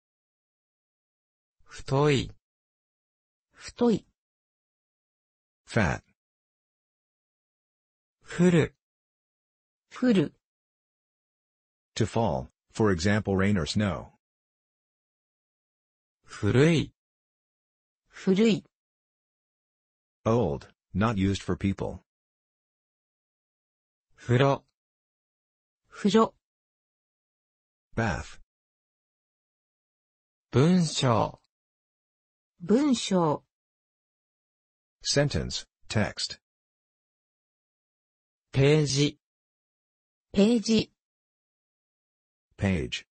太い、 太い、 Fat. 降る、 降る、 To fall, for example rain or snow. 古い、 古い、 Old, not used for people. 風呂、 風呂、 Bath. 文章、 文章、 Sentence, text. ページ、 ページ、 Page.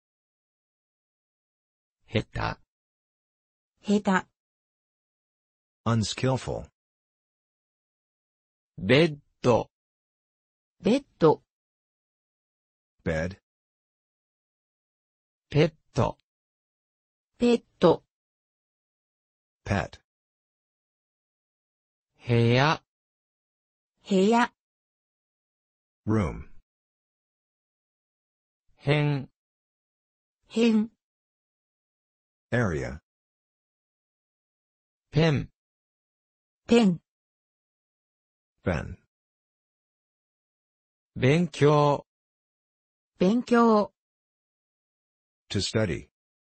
下手、 下手、 Unskillful. ベッド、 ベッド、 Bed. ペット、 ペット、 Pet. 部屋、 部屋、 Room. 辺、 辺、 Area. ペン、 ペン、 Ben. 勉強、 勉強、 To study.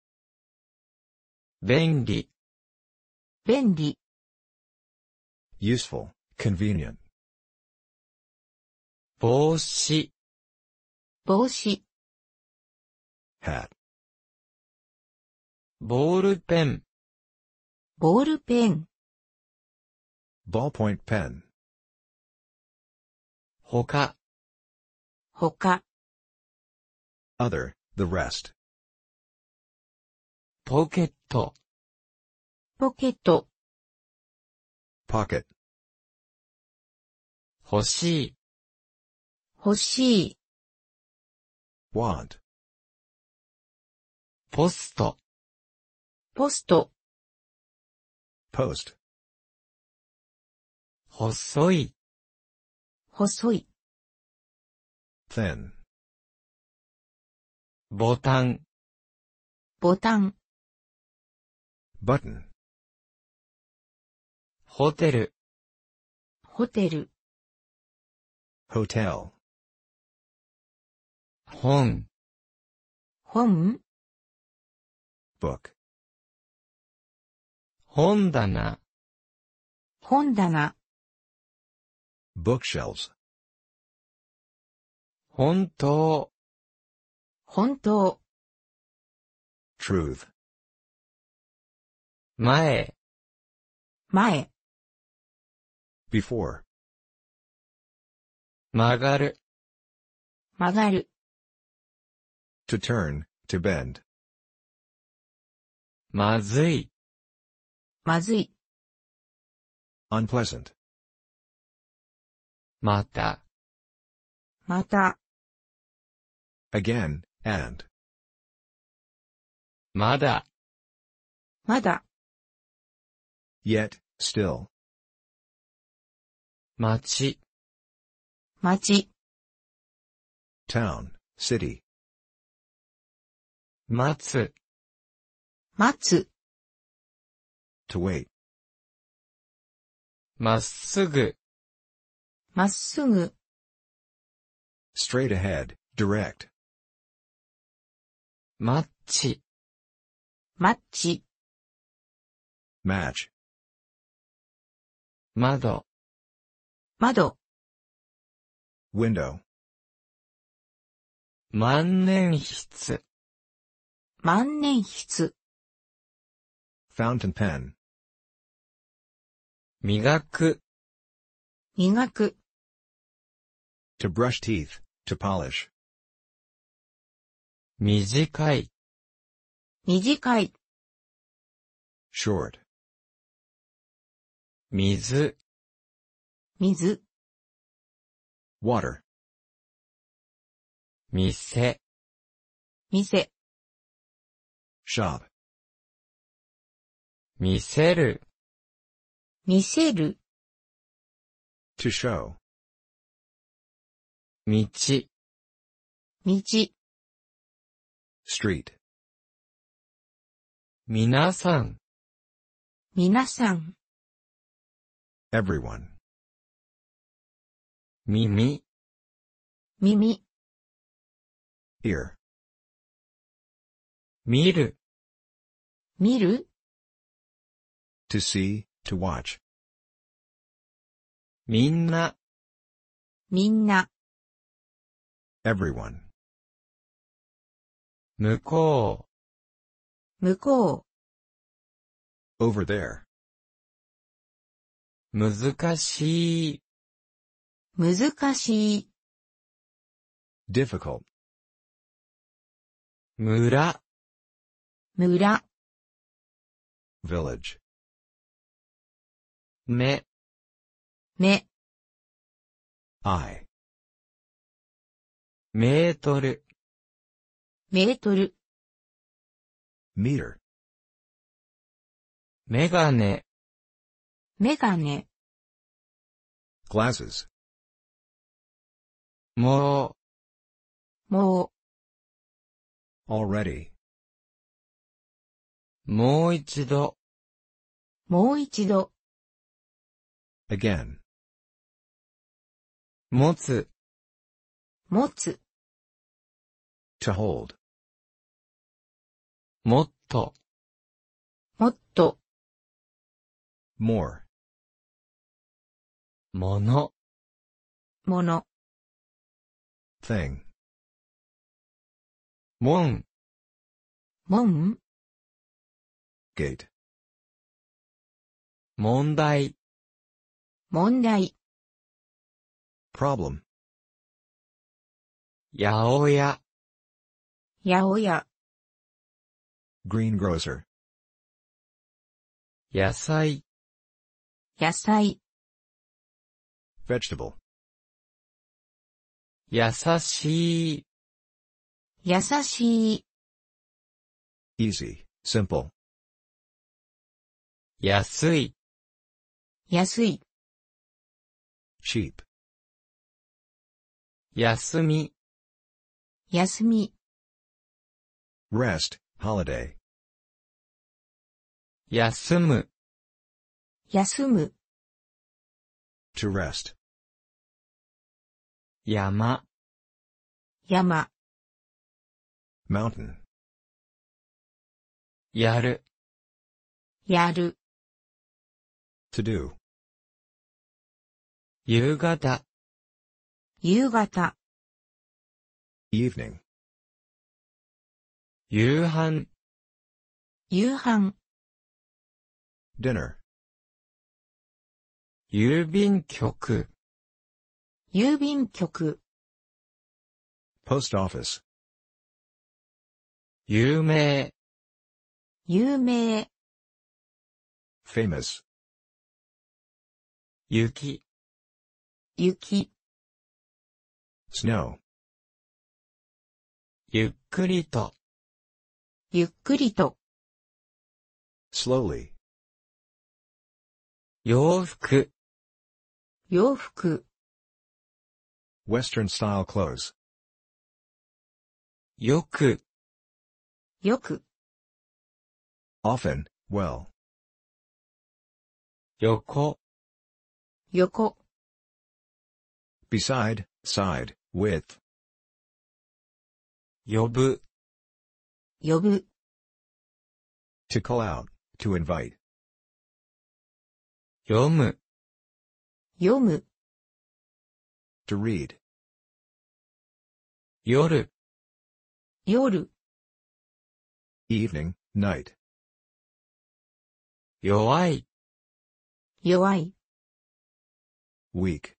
便利、 便利、 Useful, convenient. 帽子、 帽子、 Hat. ボールペン、 ボールペン、 Ballpoint pen. 他、 他、 Other, the rest. ポケット、 ポケット、 Pocket. 欲しい、 欲しい、 Want. ポスト、 ポスト、 Post. 細い、 細い、 Thin. ボタン、 ボタン、 Button. ホテル、 ホテル、 Hotel. 本、 本、 Book. 本棚、 本棚、 Bookshelves. 本当、 本当、 Truth. 前、 前、 Before. 曲がる、 曲がる、 To turn, to bend. まずい、 まずい、 Unpleasant. また、 また、 Again, and. まだ、 まだ、 Yet, still. 町、 町、 Town, city. 待つ、 待つ、 To wait. まっすぐ、 まっすぐ、 Straight ahead, direct. マッチ、 マッチ、 match, 窓、 窓、 window, 万年筆、 万年筆、 fountain pen, 磨く、 磨く、 to brush teeth, to polish, 短い、 短い、 short, 水、 水、 water, 店、 店、 shop, 見せる、 見せる、 to show, 道、 道、 street, 皆さん、 皆さん、 everyone, 耳、 耳、 ear, 見る、 見る、 to see, to watch, みんな、 みんな、 everyone, 向こ向こ over there, う、難しい、 う、難しい、 difficult, 村、 村、 village, 目、 目、 eye, メートル、 メートル、 meter, メガネ、 メガネ、 glasses, ももう、 already, もう一度、 もう一度、 again, 持つ、 持つ、 to hold, もっと、 もっと、 more, もの、 もの、 thing, 門、 門、 gate, 問題、 問題、 problem, 八百屋、 八百屋、 greengrocer, 野菜、 野菜、 vegetable, 優しい、 優しい、 easy, simple, 安い、 安い、 cheap, 休み、 休み、 rest, holiday, 休む、 休む、 to rest, 山、 山、 mountain, やる、 やる、 to do, 夕方、 夕方、 evening, 夕飯、 夕飯、 dinner, 郵便局、 郵便局、 post office, 有名、 有名、 famous, 雪、 雪、 snow, ゆっくりと、 ゆっくりと、 slowly, 洋服、 洋服、 western style clothes, よく、 よく、 often, well, 横、 横、 beside, side, with, 呼ぶ、 呼ぶ、 To call out, to invite. 読む、 読む、 To read. 夜、 夜、 Evening, night. 弱い、 弱い、 Weak.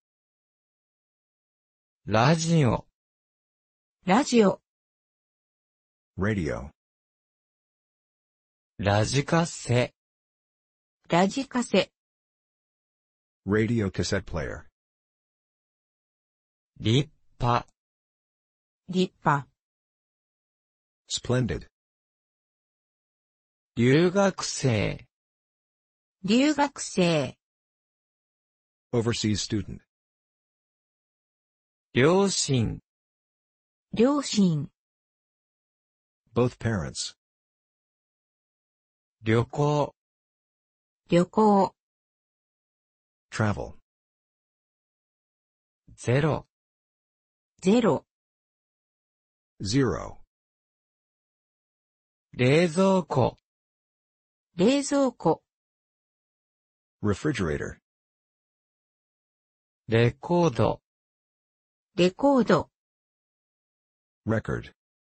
ラジオ、 ラジオ、 Radio. ラジカセ、 ラジカセ、 Radio cassette player. 立派、 立派、 Splendid. 留学生、 留学生、 Overseas student. 両親、 両親、 Both parents. 旅行、 旅行、 Travel. ゼロ、 ゼロ、 Zero. 冷蔵庫、 冷蔵庫、 Refrigerator. レコード、 レコード、 Record.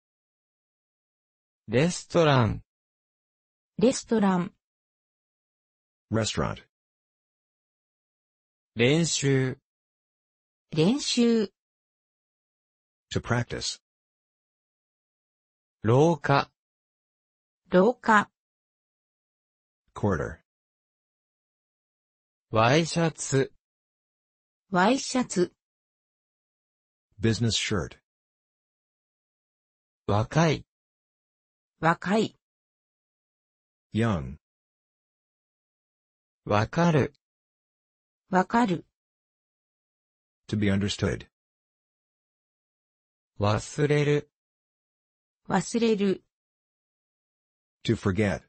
レストラン、 レストラン、 Restaurant. 練習、 練習、 To practice. 廊下、 廊下、 Quarter. ワイシャツ、 ワイシャツ、 Business shirt. 若い、 若い、 Young. わかる、 わかる、 To be understood. 忘れる、 忘れる、 To forget.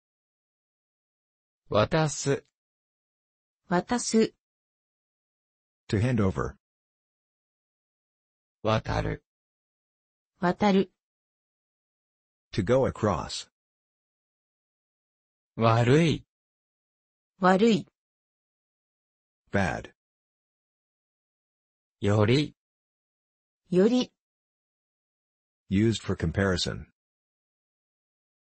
渡す、 渡す、 To hand over. 渡る、 渡る、 To go across. 悪い、 悪い、 Bad. より、 より、 Used for comparison.